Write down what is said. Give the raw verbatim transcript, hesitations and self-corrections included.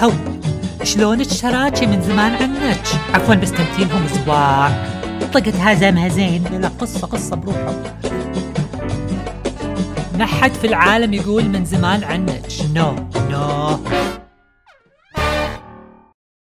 هو شلونك شراكي من زمان عنك؟ عفوا بس تمثيلهم زواع. طقت هزمها زين. لا قصة قصة بروحه. نحد في العالم يقول من زمان عنك. نو نو